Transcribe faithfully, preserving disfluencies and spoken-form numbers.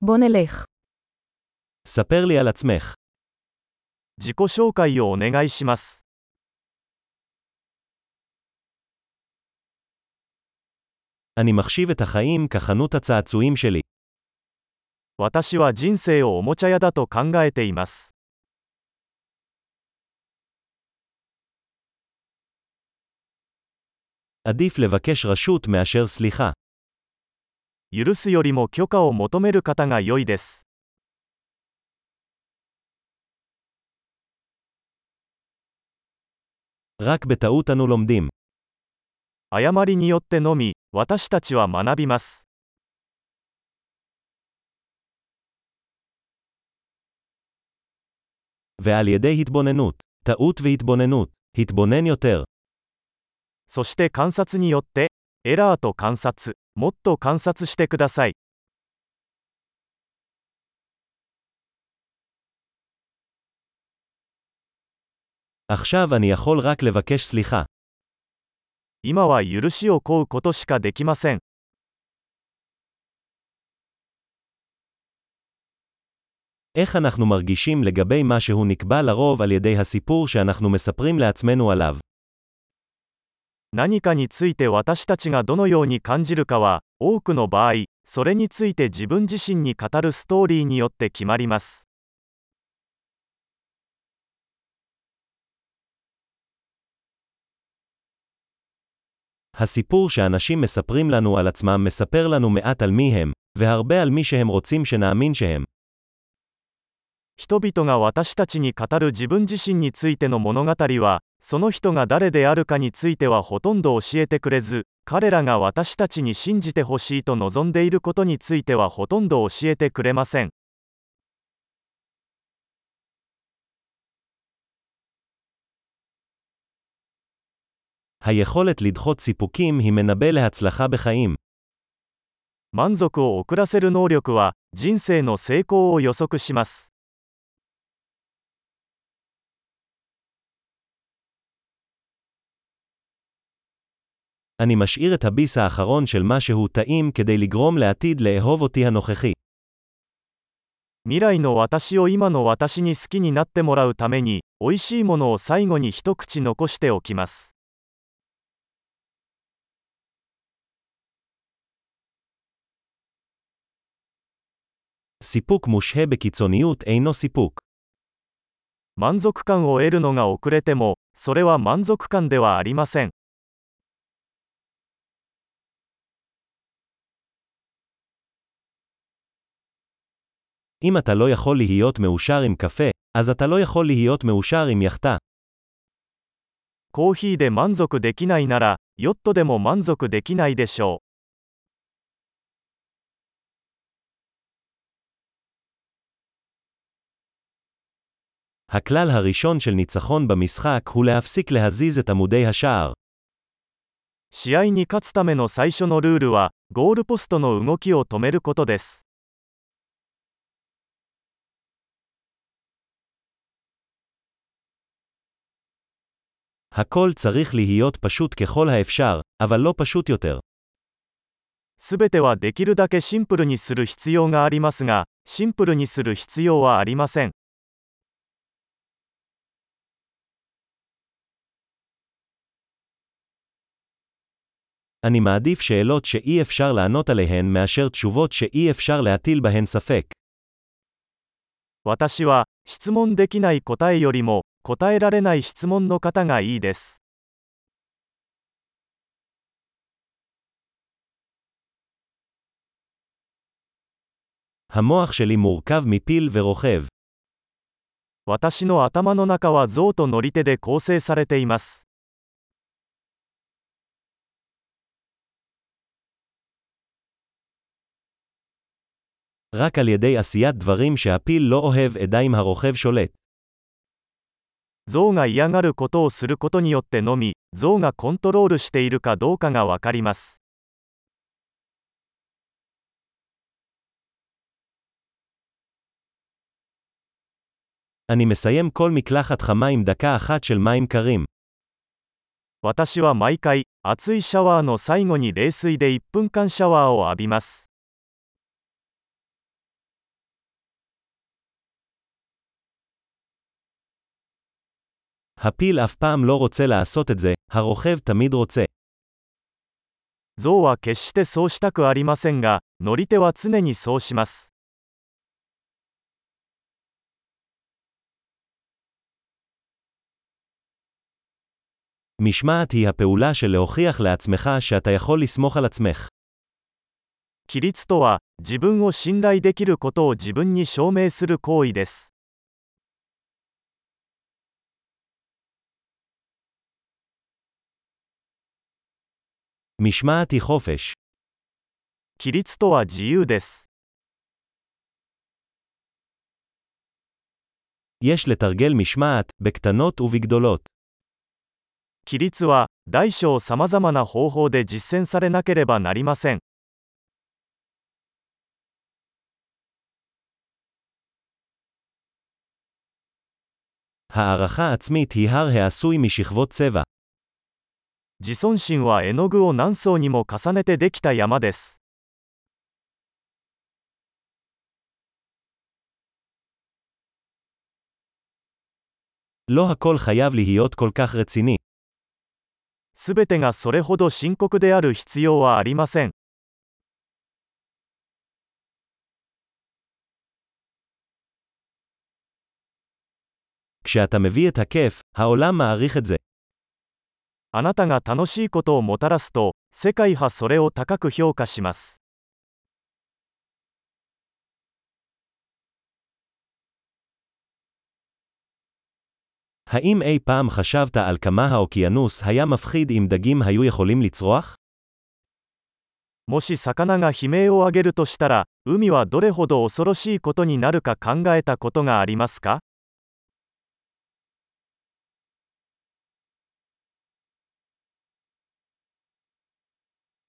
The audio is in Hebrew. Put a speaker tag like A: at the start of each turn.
A: בוא נלך.
B: ספר לי על עצמך.
C: 自己紹介をお願いします。
B: אני מחשיב את החיים כחנות הצעצועים שלי.
C: 私は人生をおもちゃ屋だと考えています。
B: עדיף לבקש רשות מאשר סליחה.
C: 許すよりも許可を求める方が良いです。
B: רק בטעות אנו לומדים.
C: 誤りによってのみ、私たちは学びます。
B: ועל ידי התבוננות. טעות והתבוננות. התבונן יותר.
C: そして観察によって、エラーと観察、もっと観察してください。
B: עכשיו אני יכול רק לבקש סליחה.
C: 今は許しを請うことしかできません。
B: איך אנחנו מרגישים לגבי מה שהוא נקבע לרוב על ידי הסיפור שאנחנו מספרים לעצמנו עליו?
C: 何かについて私たちがどのように感じるかは、多くの場合、それについて自分自身に語るストーリーによって決まります。
B: הסיפור שאנשים מספרים לנו על עצמם מספר לנו מעט על מי הם, והרבה על מי שהם רוצים שנאמין שהם.
C: 人々が私たちに語る自分自身についての物語は、その人が誰であるかについてはほとんど教えてくれず、彼らが私たちに信じてほしいと望んでいることについてはほとんど教えてくれません。
B: היכולת לדחות סיפוקים היא מנבא להצלחה בחיים.
C: 満足を遅らせる能力は、人生の成功を予測します。
B: אני משאיר את הביס האחרון של משהו טעים כדי לגרום לעתיד לאהוב אותי הנוכחי.
C: 未来の私を今の私に好きになってもらうために、美味しいものを最後に一口残しておきます。
B: סיפוק מושהה בקיצוניות אינו סיפוק.
C: 満足感を得るのが遅れても、それは満足感ではありません。
B: אם אתה לא יכול להיות מאושר עם קפה, אז אתה לא יכול להיות מאושר עם יחטה.
C: コーヒーで満足できないなら、ヨットでも満足できないでしょう。
B: הכלל הראשון של ניצחון במשחק הוא להפסיק להזיז את עמודי השער.
C: 試合に勝つための最初のルールは、ゴールポストの動きを止めることです。
B: הכל צריך להיות פשוט ככל האפשר, אבל לא פשוט יותר.
C: すべてはできるだけシンプルにする必要がありますが、シンプルにする必要はありません。
B: אני מעדיף שאלות שאי אפשר לענות עליהן מאשר תשובות שאי אפשר להטיל בהן ספק.
C: 私は、質問できない答えよりも、答えられない質問の方がいいです。
B: המוח שלי מורכב מפיל ורוכב.
C: 私の頭の中は象と乗り手で構成されています。
B: רק על ידי עשיית דברים שהפיל לא אוהב אדע אם הרוכב שולט.
C: 象が嫌がることをすることによってのみ、象がコントロールしているかどうかがわかります。
B: אני מסיים כל מקלחת חמה עם דקה אחת של מים קרים.
C: 私は毎回、熱いシャワーの最後に冷水でいっぷんかんシャワーを浴びます。
B: הפיל אף פעם לא רוצה לעשות את זה, הרוכב תמיד רוצה.
C: 象は決してそうしたくありませんが、乗り手は常にそうします。
B: משמעת היא הפעולה של להוכיח לעצמך שאתה יכול לסמוך על עצמך.
C: 規律とは、自分を信頼できることを自分に証明する行為です。
B: משמעת היא חופש.
C: 規律とは自由です。
B: יש לתרגל משמעת, בקטנות ובגדולות.
C: 規律は、大小さまざまな方法で実践されなければなりません。
B: הערכה עצמית היא הר העשוי משכבות צבע.
C: 自尊心は絵の具を何層にも重ねてできた山です。
B: לא הכל חייב להיות כל כך רציני.
C: すべてがそれほど深刻である必要はありません。
B: כשאתה מביא את הכיף, העולם מעריך את זה.
C: あなたが楽しいことをもたらすと、世界はそれを高く評価します。
B: האם אי פעם חשבת על כמה האוקיינוס היה מפחיד אם דגים היו יכולים לצרוח?
C: もし魚が悲鳴を上げるとしたら、海はどれほど恐ろしいことになるか考えたことがありますか？